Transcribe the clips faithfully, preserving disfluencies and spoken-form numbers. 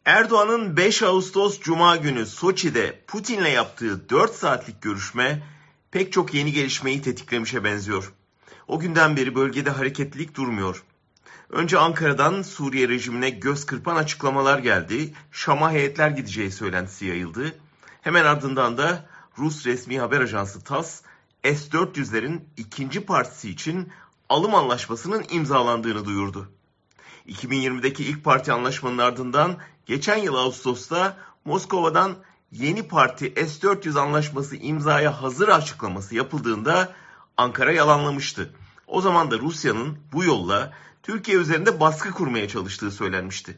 Erdoğan'ın beş Ağustos Cuma günü Soçi'de Putin'le yaptığı dört saatlik görüşme pek çok yeni gelişmeyi tetiklemişe benziyor. O günden beri bölgede hareketlilik durmuyor. Önce Ankara'dan Suriye rejimine göz kırpan açıklamalar geldi. Şam'a heyetler gideceği söylentisi yayıldı. Hemen ardından da Rus resmi haber ajansı TASS, S dört yüzlerin ikinci partisi için alım anlaşmasının imzalandığını duyurdu. iki bin yirmideki ilk parti anlaşmanın ardından geçen yıl Ağustos'ta Moskova'dan yeni parti S dört yüz anlaşması imzaya hazır açıklaması yapıldığında Ankara yalanlamıştı. O zaman da Rusya'nın bu yolla Türkiye üzerinde baskı kurmaya çalıştığı söylenmişti.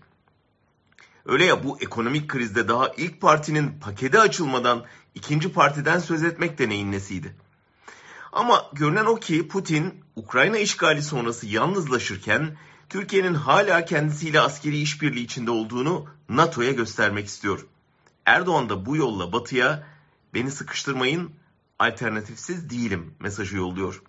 Öyle ya, bu ekonomik krizde daha ilk partinin paketi açılmadan ikinci partiden söz etmek de neyin nesiydi? Ama görünen o ki Putin Ukrayna işgali sonrası yalnızlaşırken Türkiye'nin hala kendisiyle askeri işbirliği içinde olduğunu NATO'ya göstermek istiyor. Erdoğan da bu yolla Batı'ya "beni sıkıştırmayın, alternatifsiz değilim" mesajı yolluyor.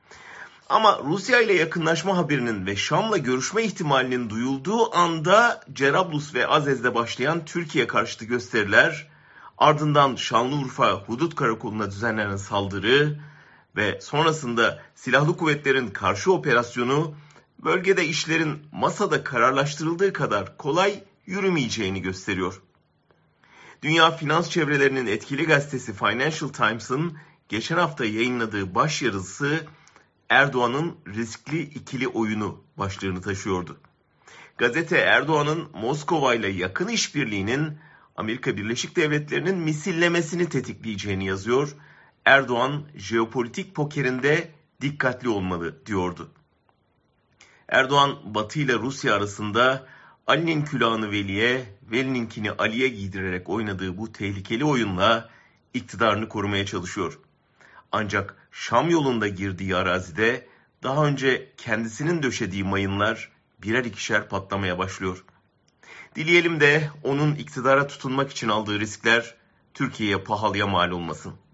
Ama Rusya ile yakınlaşma haberinin ve Şam'la görüşme ihtimalinin duyulduğu anda Cerablus ve Azez'de başlayan Türkiye karşıtı gösteriler, ardından Şanlıurfa Hudut Karakolu'na düzenlenen saldırı ve sonrasında silahlı kuvvetlerin karşı operasyonu bölgede işlerin masada kararlaştırıldığı kadar kolay yürümeyeceğini gösteriyor. Dünya finans çevrelerinin etkili gazetesi Financial Times'ın geçen hafta yayınladığı başyazısı Erdoğan'ın riskli ikili oyunu başlığını taşıyordu. Gazete Erdoğan'ın Moskova ile yakın işbirliğinin Amerika Birleşik Devletleri'nin misillemesini tetikleyeceğini yazıyor. Erdoğan jeopolitik pokerinde dikkatli olmalı diyordu. Erdoğan Batı ile Rusya arasında Ali'nin külahını Veli'ye, Veli'ninkini Ali'ye giydirerek oynadığı bu tehlikeli oyunla iktidarını korumaya çalışıyor. Ancak Şam yolunda girdiği arazide daha önce kendisinin döşediği mayınlar birer ikişer patlamaya başlıyor. Dileyelim de onun iktidara tutunmak için aldığı riskler Türkiye'ye pahalıya mal olmasın.